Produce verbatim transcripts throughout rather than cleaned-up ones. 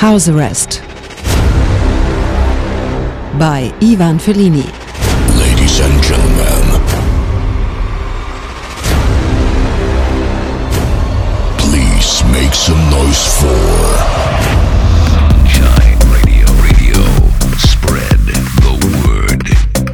House Arrest by Ivan Fellini. Ladies and gentlemen, please make some noise for Sunshine Radio. Radio, spread the word.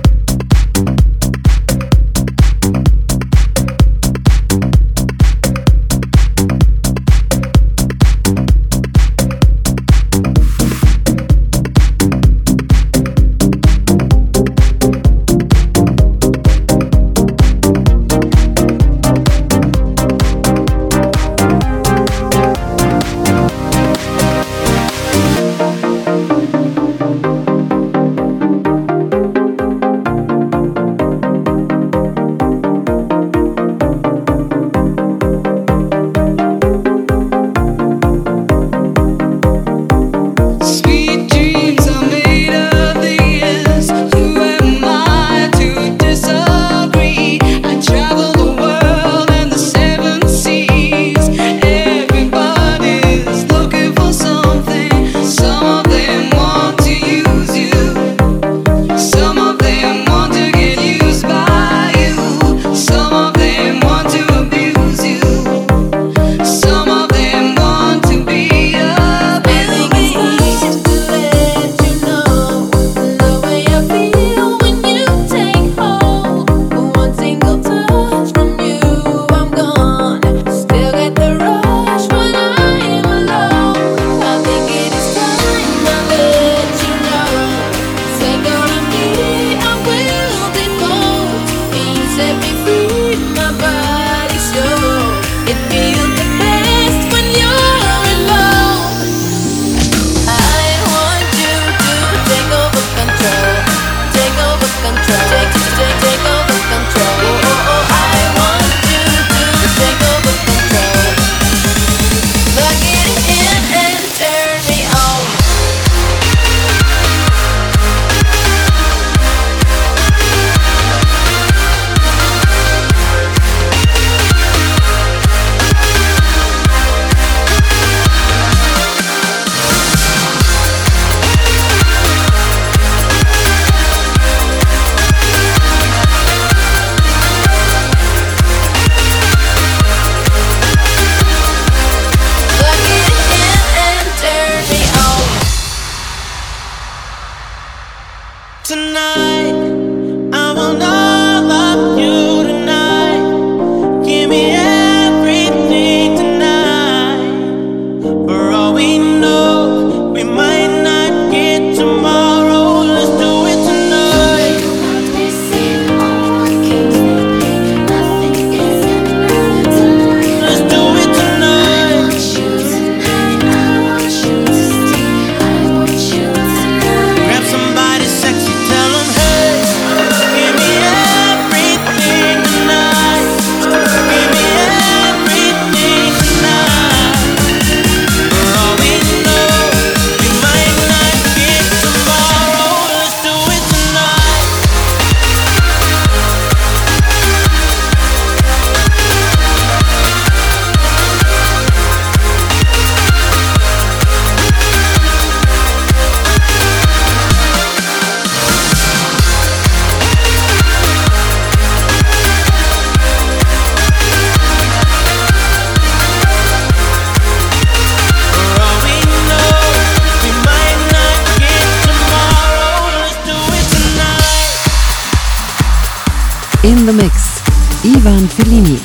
In the mix, Ivan Fellini.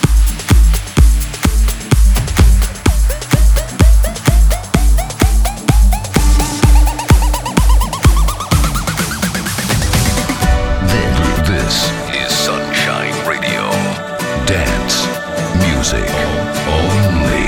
This is Sunshine Radio. Dance music only.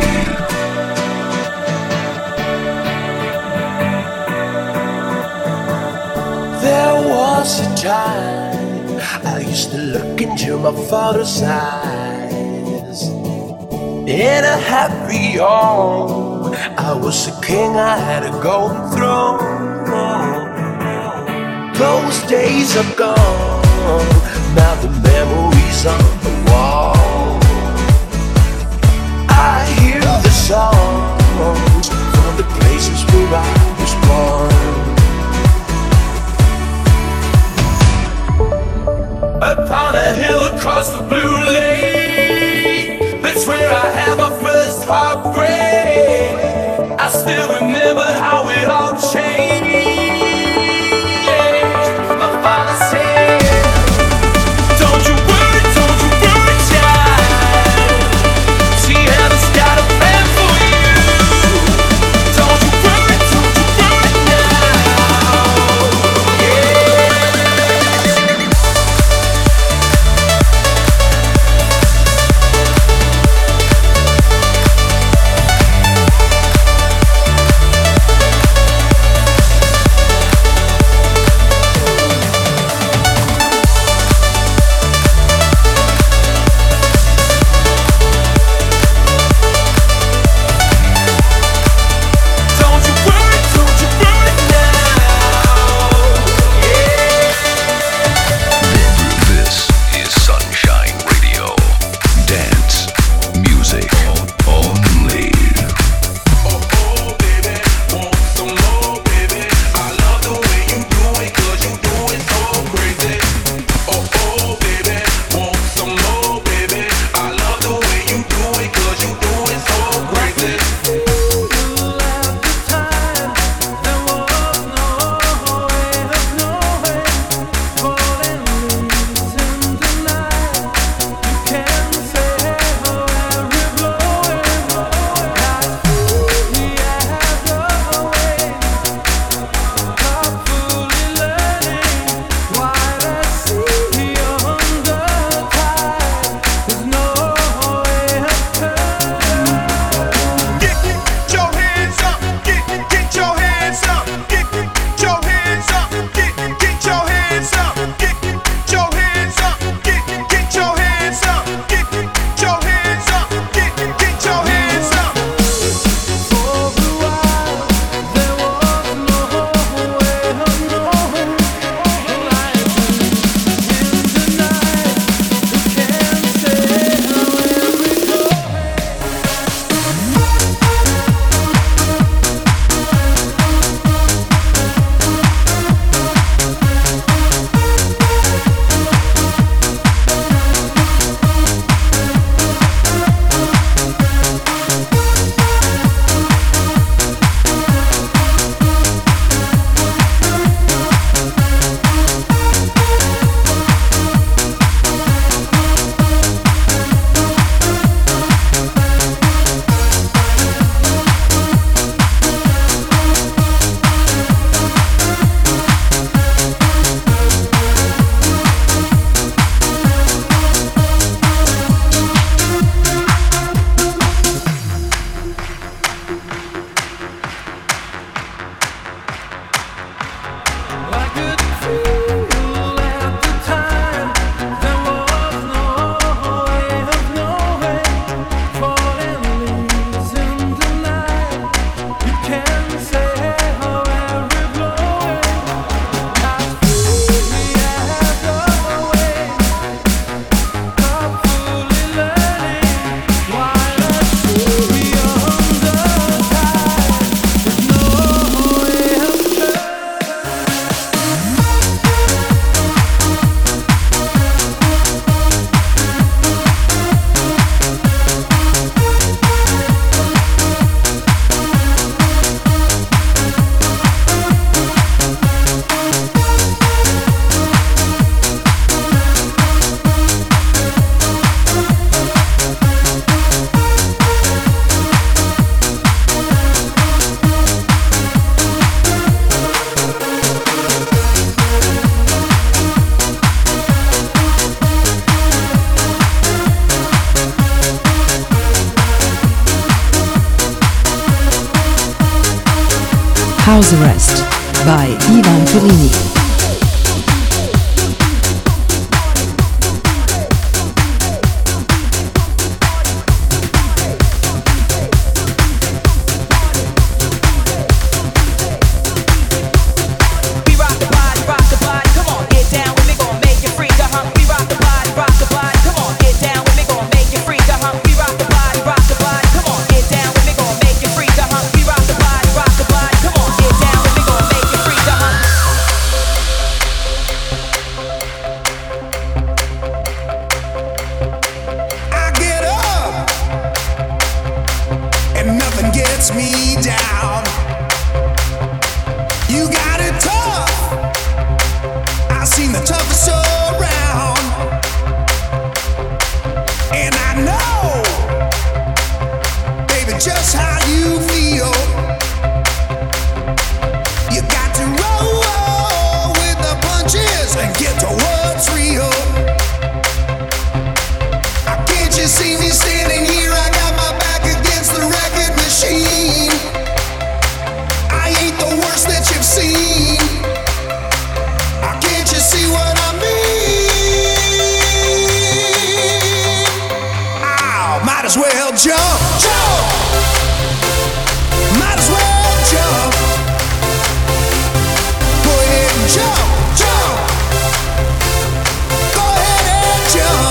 There was a time I used to look into my father's eyes. In a happy home, I was a king, I had a golden throne. Those days are gone, now the memories on the wall. I hear the songs from the places where I afraid. I still remember how it all changed. My father said, don't you worry, don't you worry, child. See, heaven's got a plan for you. Don't you worry, don't you worry now. Yeah. House Arrest by Ivan Fellini. lets me down. You got it tough. I've seen the toughest around, and I know, baby, just how you feel. You got to roll with the punches and get to what's real. Can't you see me standing here? I got my back against the record machine. I ain't the worst that you've seen. Can't you see what I mean? Oh, might as well jump, jump. Might as well jump. Go ahead and jump, jump. Go ahead and jump.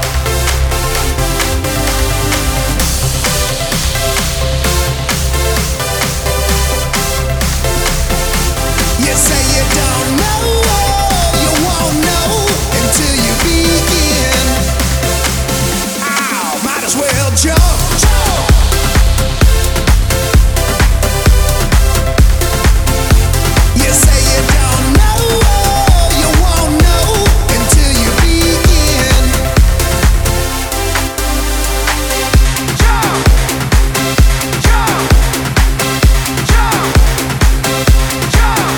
You say you don't know, you won't know until you begin. Ow, might as well jump, jump. You say you don't know, you won't know until you begin. Jump, jump, jump, jump.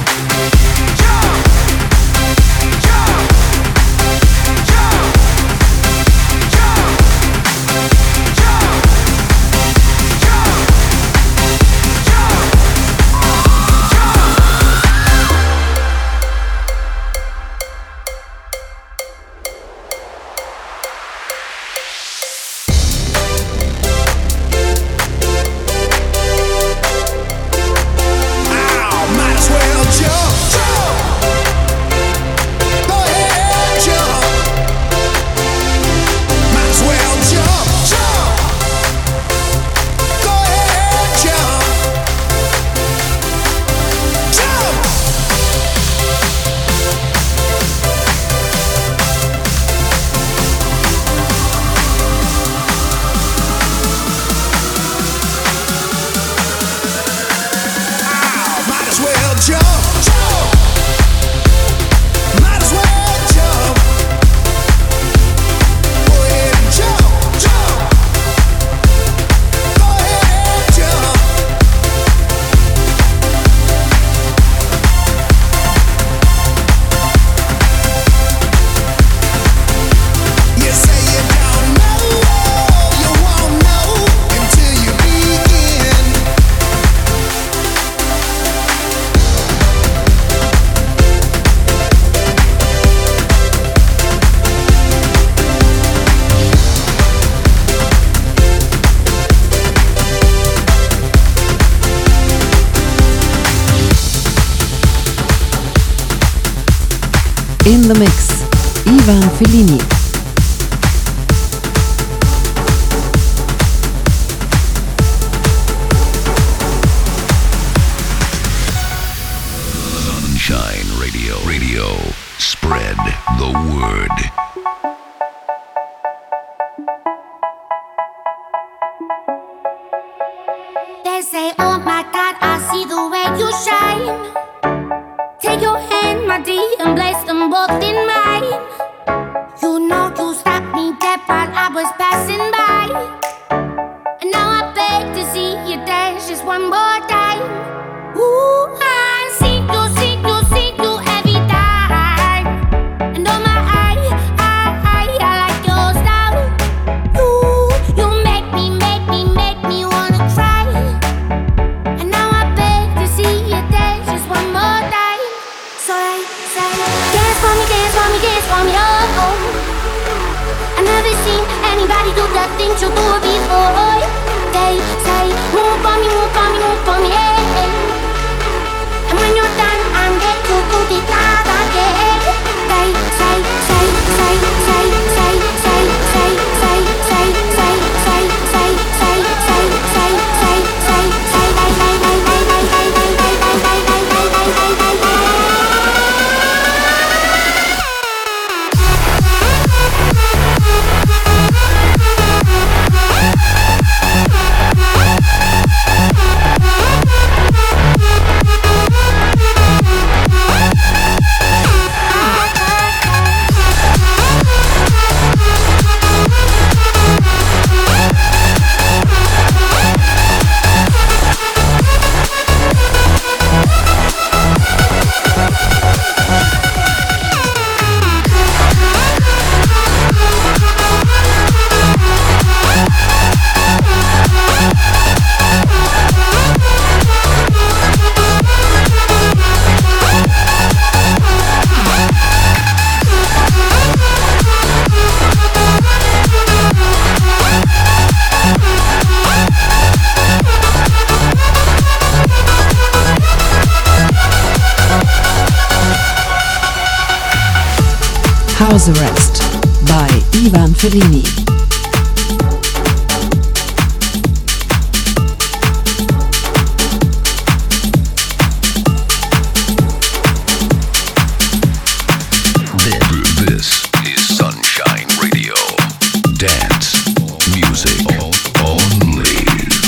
In the mix, Ivan Fellini. Sunshine Radio. Radio. Spread the word. They say, oh my God, I see the way you shine. Take your hand, my dear, and place them both in mine. You know you stopped me dead while I was passing by. And now I beg to see you dance just one more time. Ooh, I see you, see you, see you every time. And oh my, I, I, I, I like your style. Ooh, you make me, make me, make me wanna cry. And now I beg to see you dance just one more time. So I say, dance for me, dance for me, dance for me, oh, oh. I've never seen anybody do the things you do before. They say, move for me, move for me, move for me, hey, hey. House Arrest by Ivan Fellini. This is Sunshine Radio. Dance music only.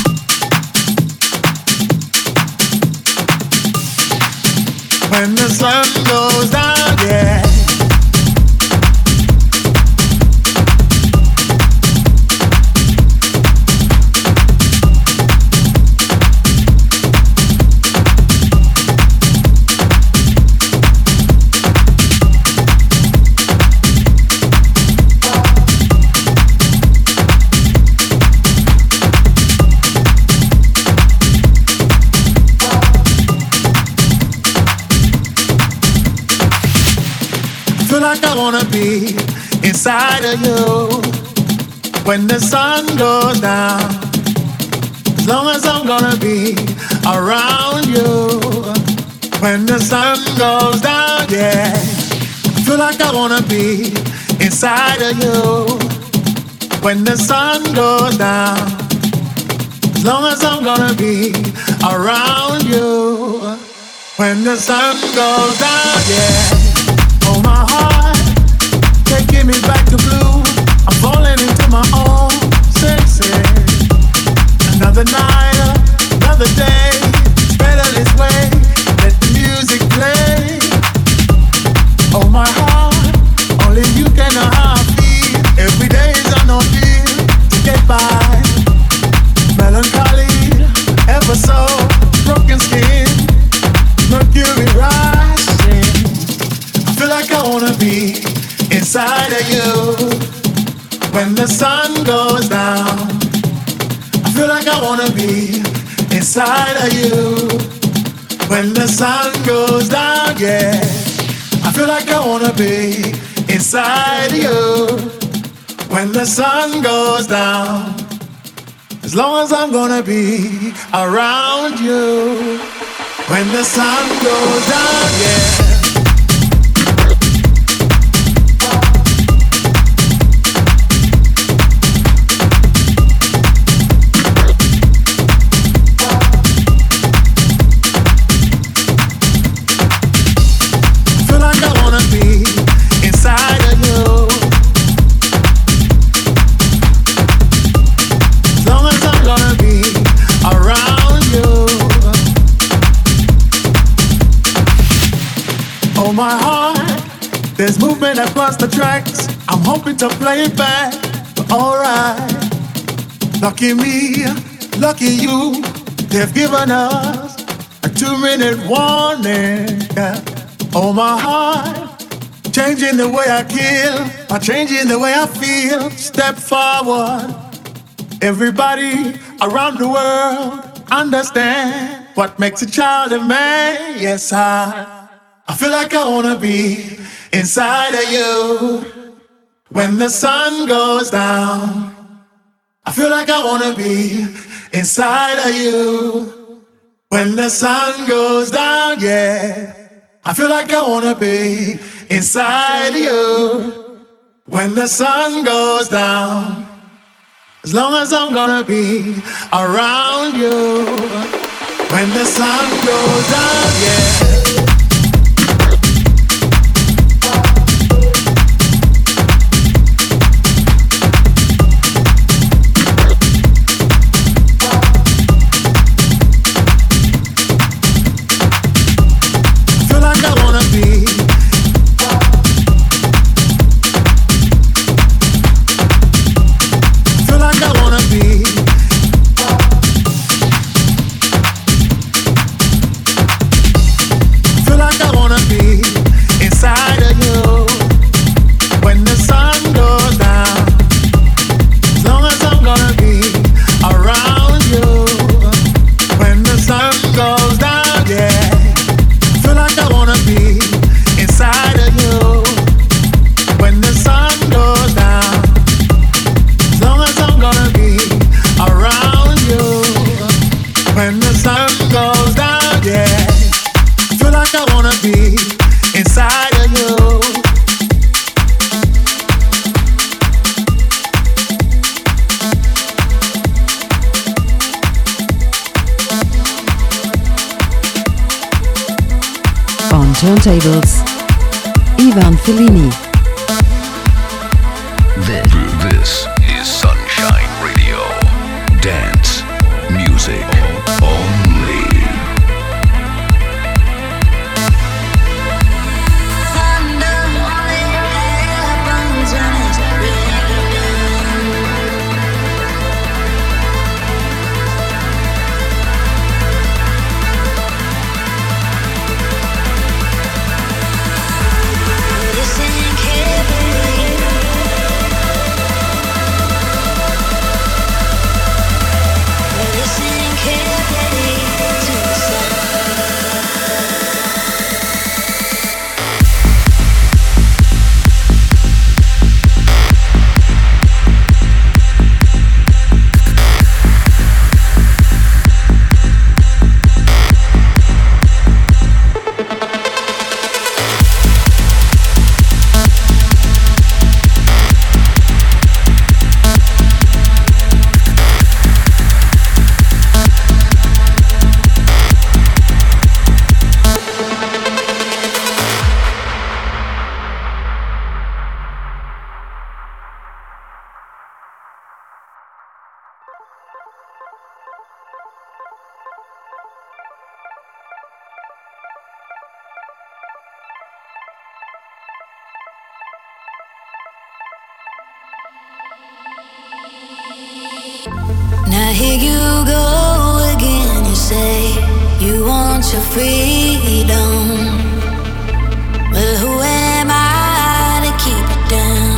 When the sun goes down, yeah. Like I wanna be inside of you when the sun goes down. As long as I'm gonna be around you when the sun goes down, yeah. I feel like I wanna be inside of you when the sun goes down. As long as I'm gonna be around you when the sun goes down, yeah. Oh, my heart, taking me back to blue. I'm falling into my own senses. Another night, another day. It's better this way. Let the music play. Oh, my heart, only you can know how I feel. Every day is an ordeal to get by. Melancholy, ever so broken skin. Mercury rising. I feel like I wanna be inside of you when the sun goes down. I feel like I wanna be inside of you when the sun goes down, yeah. I feel like I wanna be inside of you when the sun goes down. As long as I'm gonna be around you when the sun goes down, yeah. My heart, there's movement across the tracks. I'm hoping to play it back, but alright. Lucky me, lucky you. They've given us a two-minute warning. Yeah. Oh, my heart, changing the way I kill, or changing the way I feel. Step forward. Everybody around the world understand what makes a child a man. Yes, I. I feel like I wanna be inside of you when the sun goes down. I feel like I wanna be inside of you when the sun goes down, yeah. I feel like I wanna be inside of you when the sun goes down. As long as I'm gonna be around you when the sun goes down, yeah. turntables, Ivan Fellini. This is Sunshine Radio. Dance music only. Now here you go again, you say you want your freedom. Well, who am I to keep it down?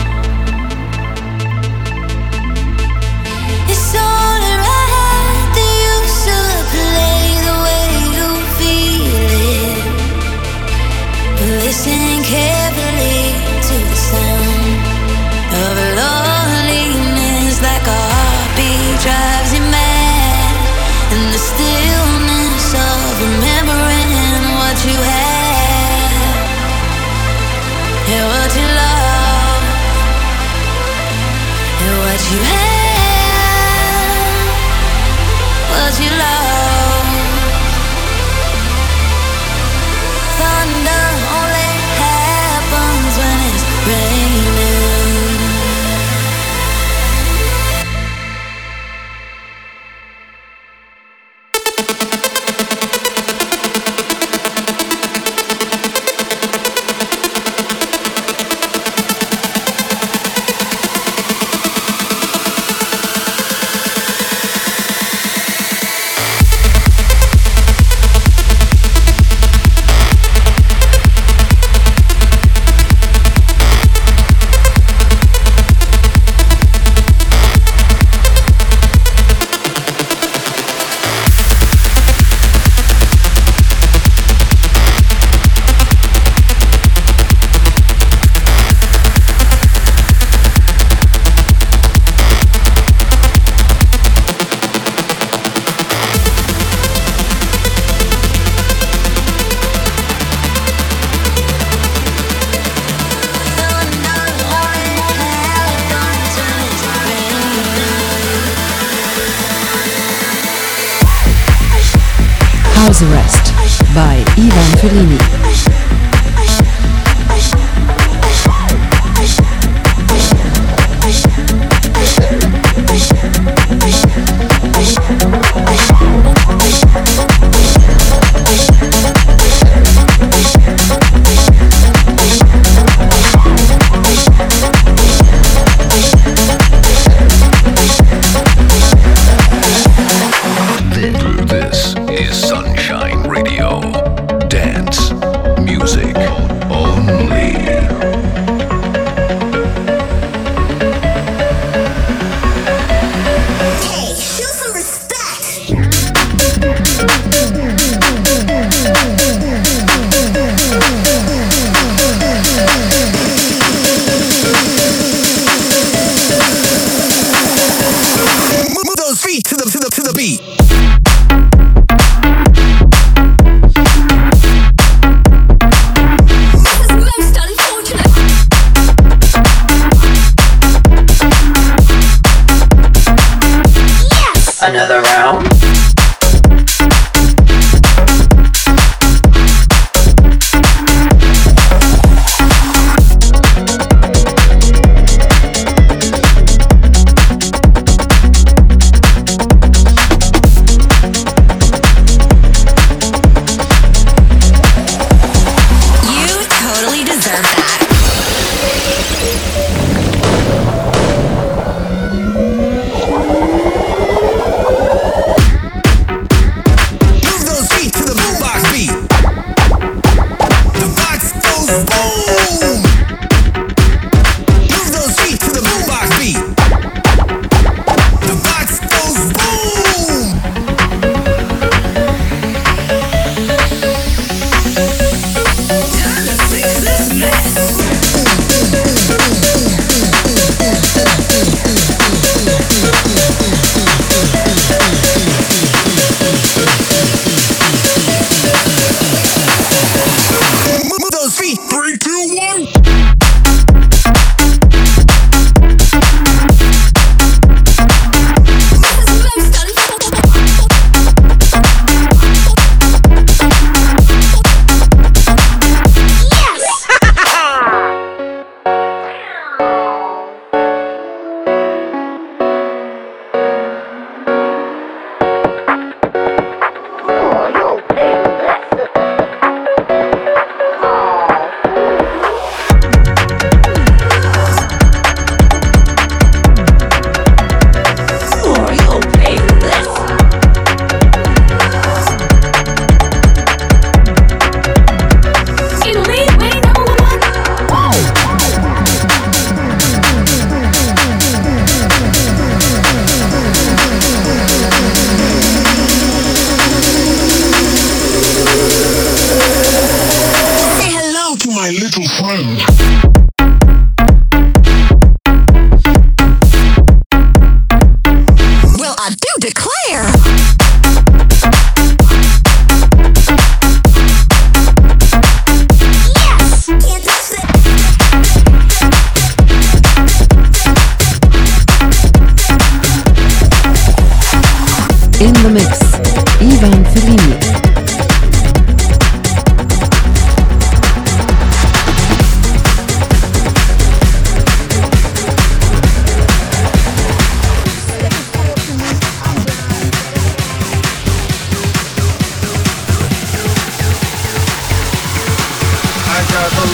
It's only right that you should play the way you feel it. Listen carefully to the sound of loneliness, like a heartbeat drives you mad, and the stillness of remembering what you had, and what you love, and what you had, what you love. Thunder only happens when it's raining. House Arrest by Ivan Fellini. This is Sunshine Radio. Dance music only. Hey!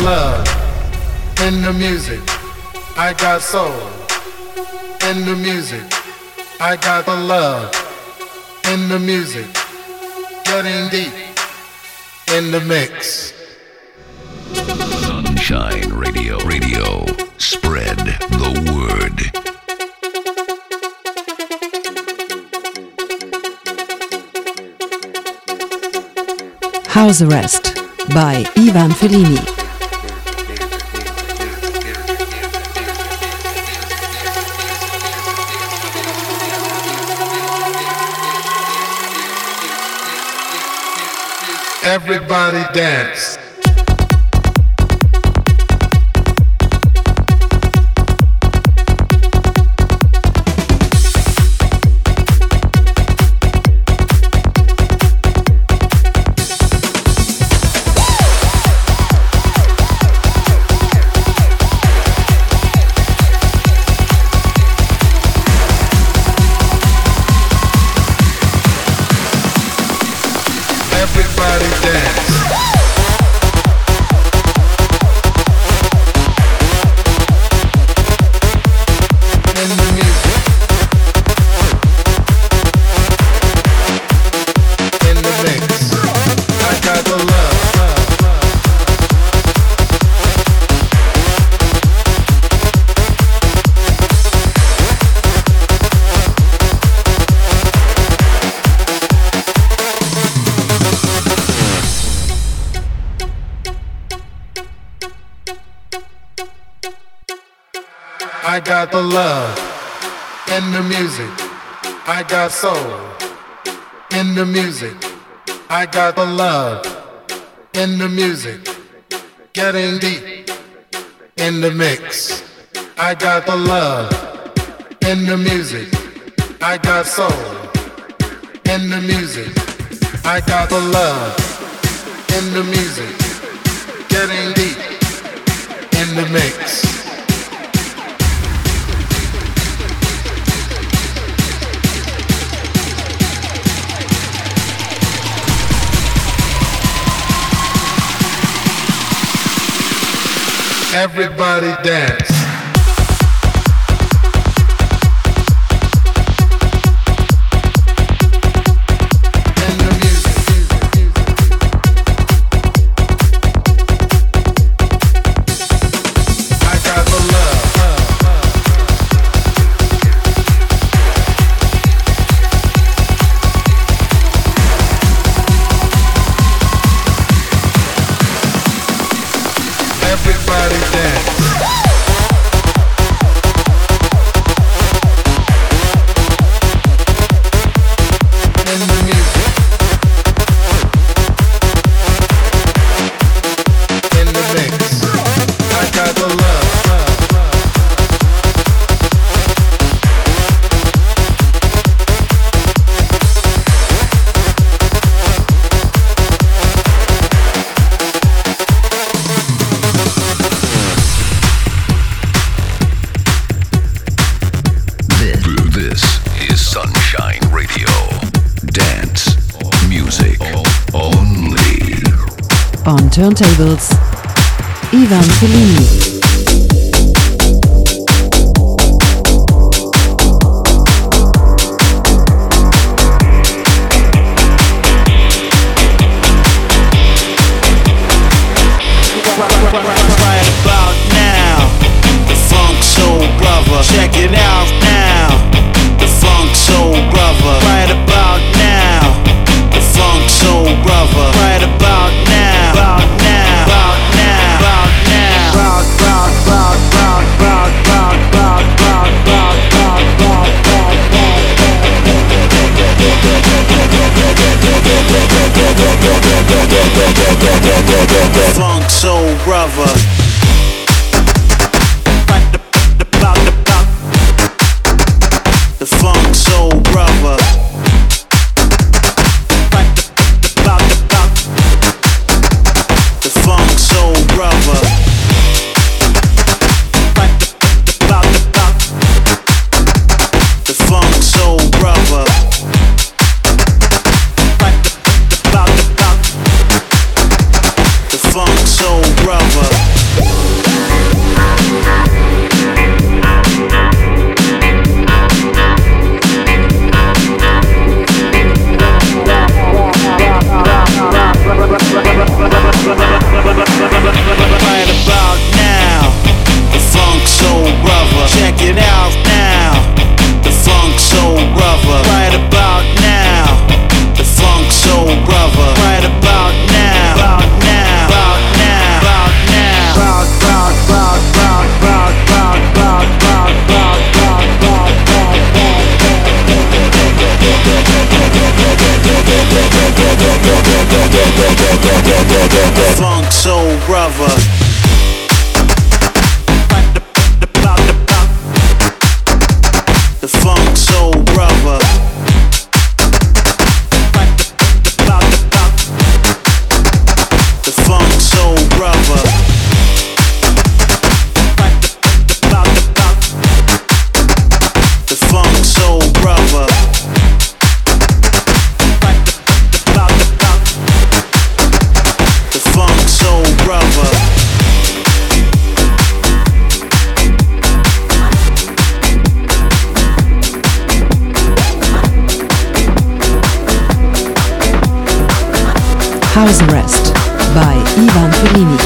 love in the music. I got soul in the music. I got the love in the music. Getting deep in the mix. Sunshine Radio. Radio. Spread the word. House Arrest by Ivan Fellini. Everybody dance. Everybody dance. In the music. In the mix. I got the love. I got the love in the music. I got soul in the music. I got the love in the music. Getting deep in the mix. I got the love in the music. I got soul in the music. I got the love in the music. Getting deep in the mix. Everybody dance. In the music. I got the love. Everybody dance. In the music. In the mix. I got the love. This is Sunshine Radio. Dance music only. On turntables, Ivan Fellini. Right about now, the Funk Soul Brother. Check it out now, the Funk Soul Brother. Right about now, the Funk Soul Brother. Right about now, about now, about now, about now. Rock, rock, rock, rock, rock, rock, rock, rock, rock, rock, rock, rock. Funk Soul Brother. The Funk Soul Brother. The Funk Soul Brother. The Funk Soul Brother. The Funk Soul Brother. House Arrest by Ivan Fellini.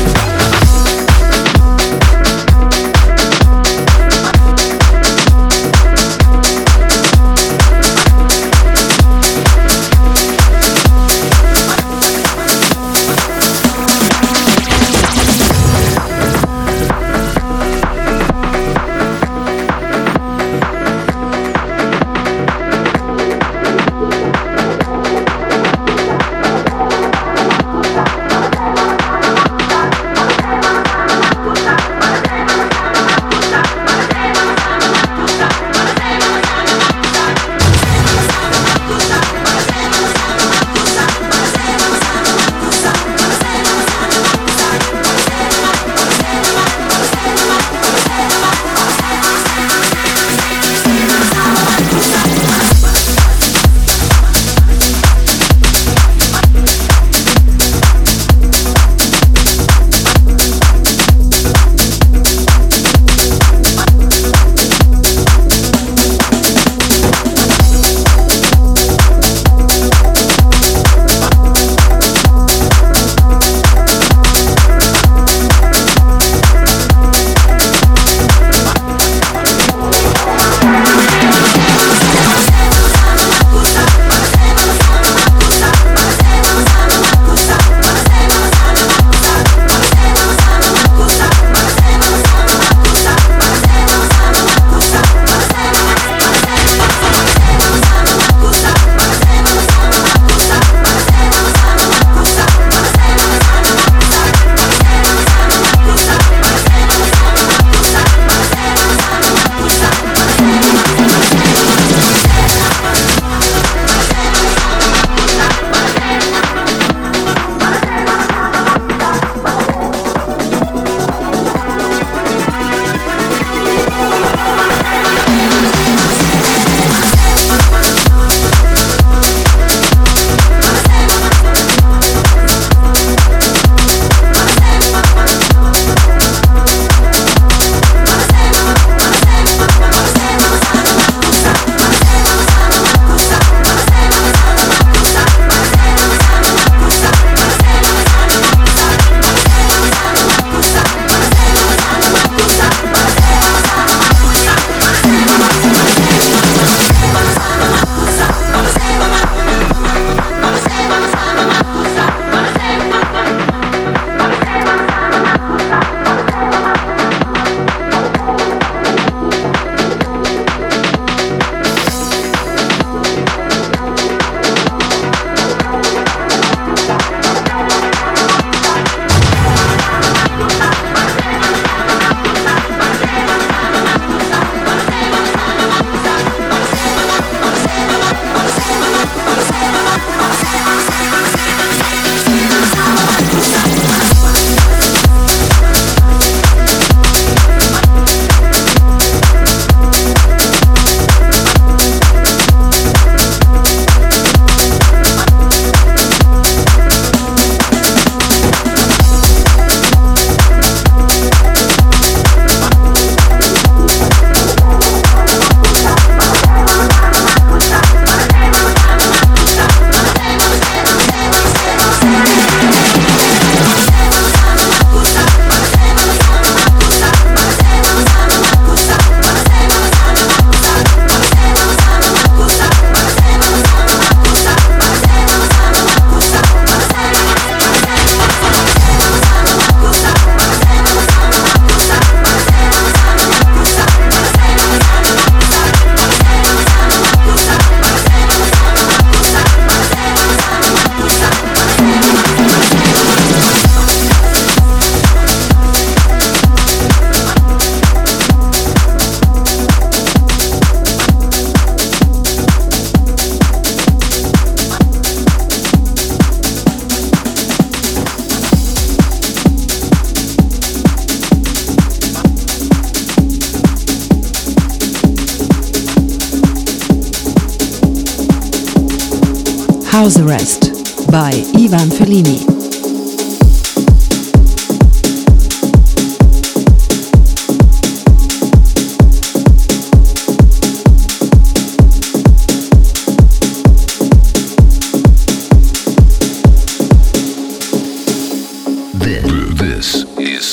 House Arrest by Ivan Fellini.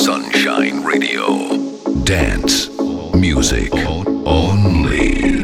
Sunshine Radio. Dance music only.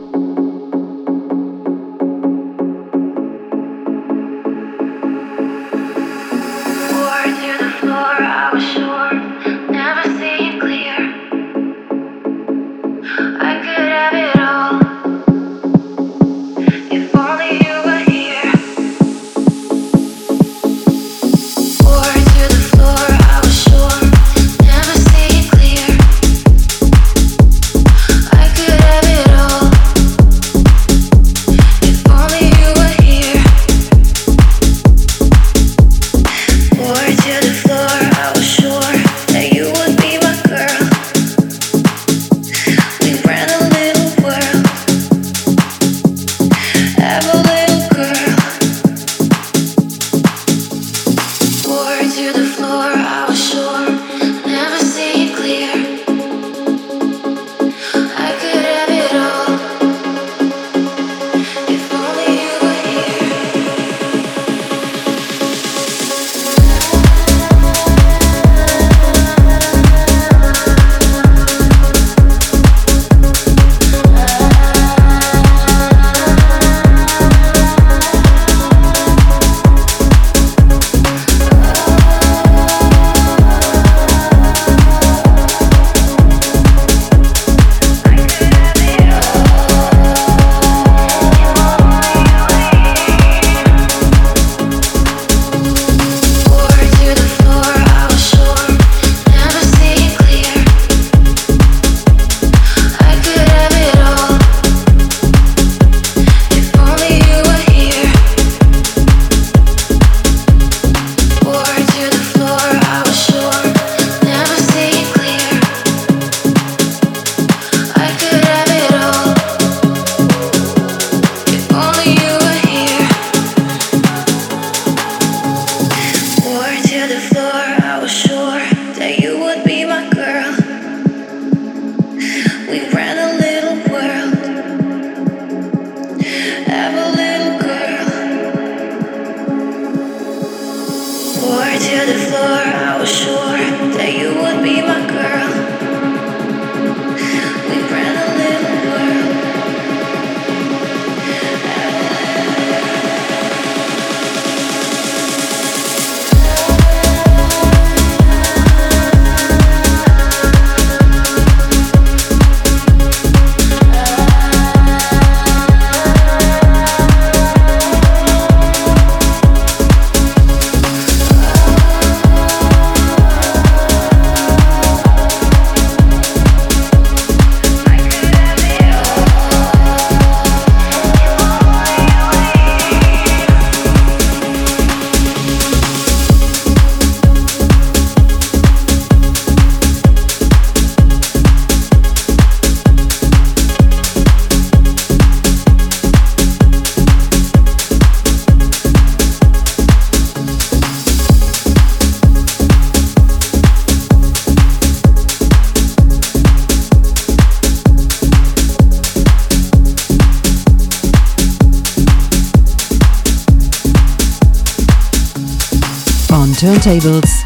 Turntables,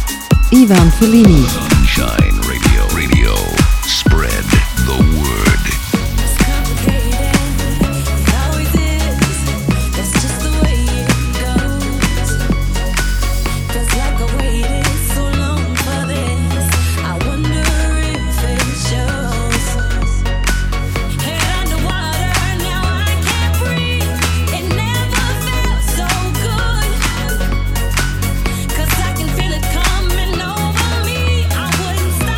Ivan Fellini. Sunshine Radio, radio, spread the word. Cause I can feel it coming over me. I wouldn't stop.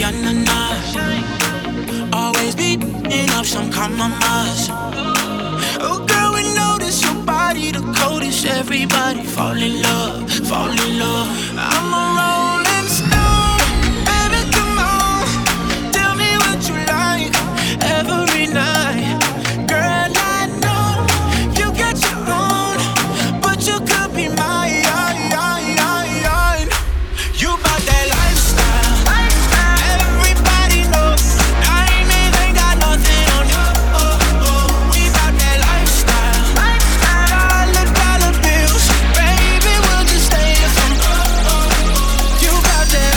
na na na. Always beating up some compromise. Oh girl, we notice your body the coldest. Everybody fall in love, fall in love. I'm a rolling stone, baby, come on. Tell me what you like every night. Girl, I know you got your own, but you could be mine. You bout that lifestyle. Everybody knows diamonds ain't got nothing on you. We bout that lifestyle. Dollar, dollar bills, baby, we'll just stay here from. You bout that.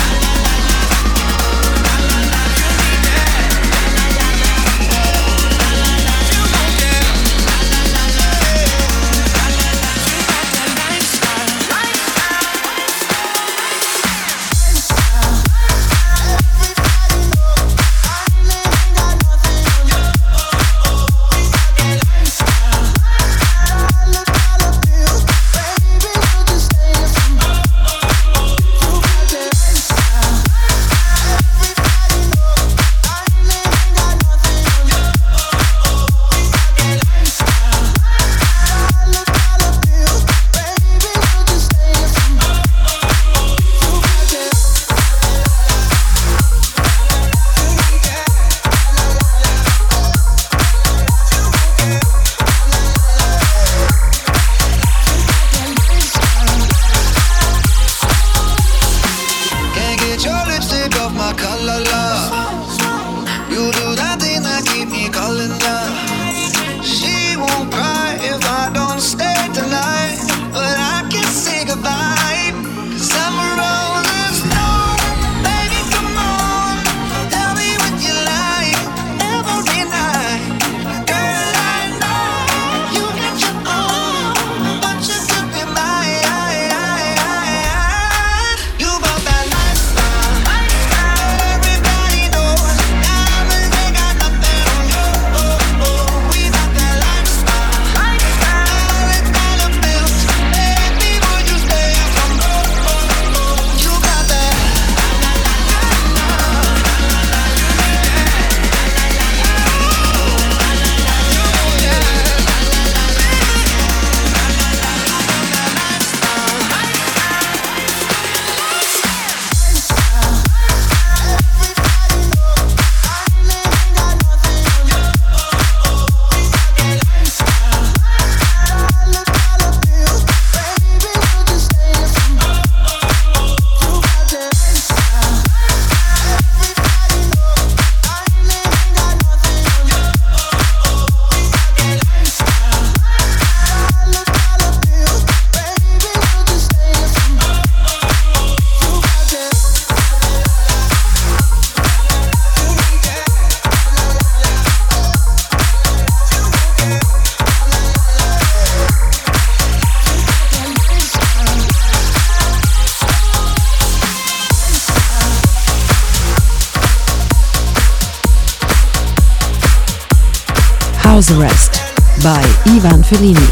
House Arrest by Ivan Fellini.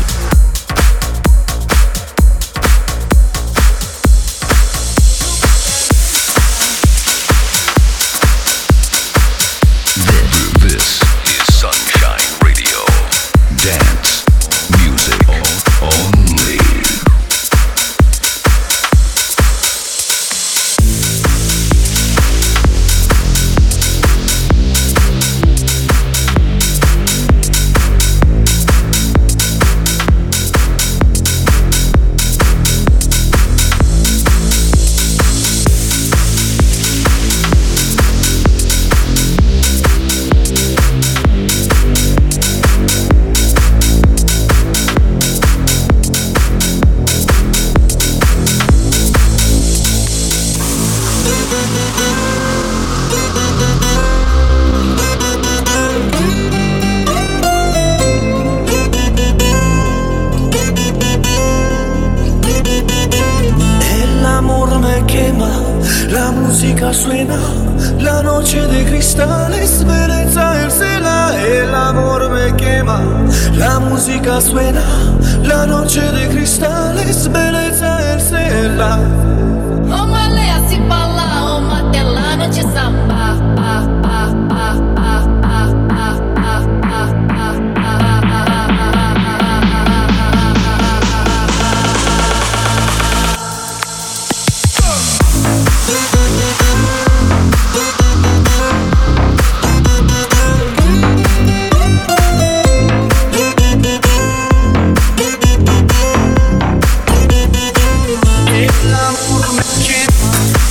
Suena la noche de cristales, belleza el cielo, el amor me quema. La música suena la noche de cristales, belleza el cielo. Vamos ler, se falar, uma tela, notícia.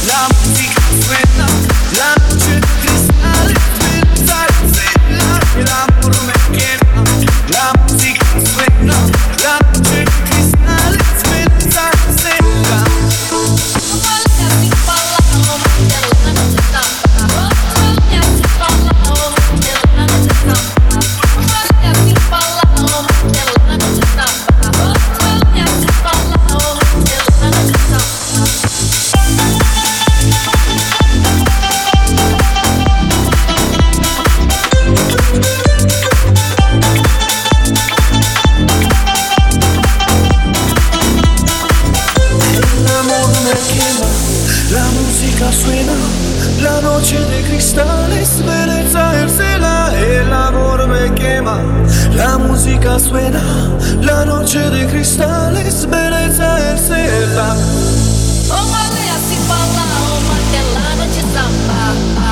la musica suena, la noche de cristal suena, suena, el amor me quema, la música suena, la noche de cristal suena, suena. Suena, la noche de cristales, belleza el cela, el amor me quema. La música suena, la noche de cristales, belleza el cela. Oh, malea se fala, oh, martelada de samba.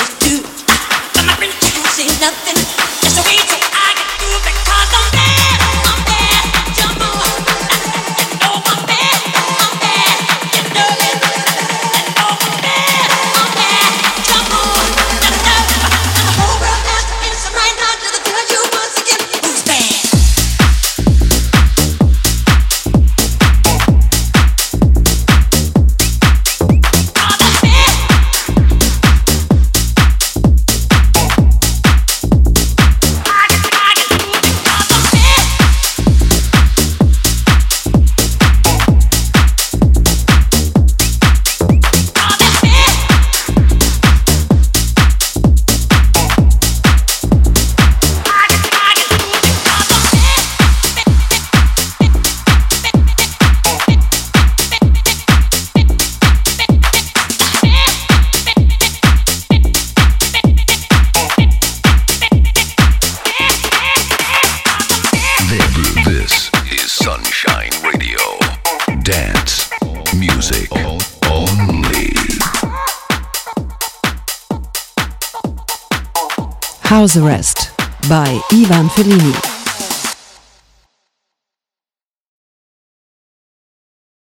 Nothing, just a way till I get through because I'm there. Shine Radio. Dance music only. House Arrest by Ivan Fellini.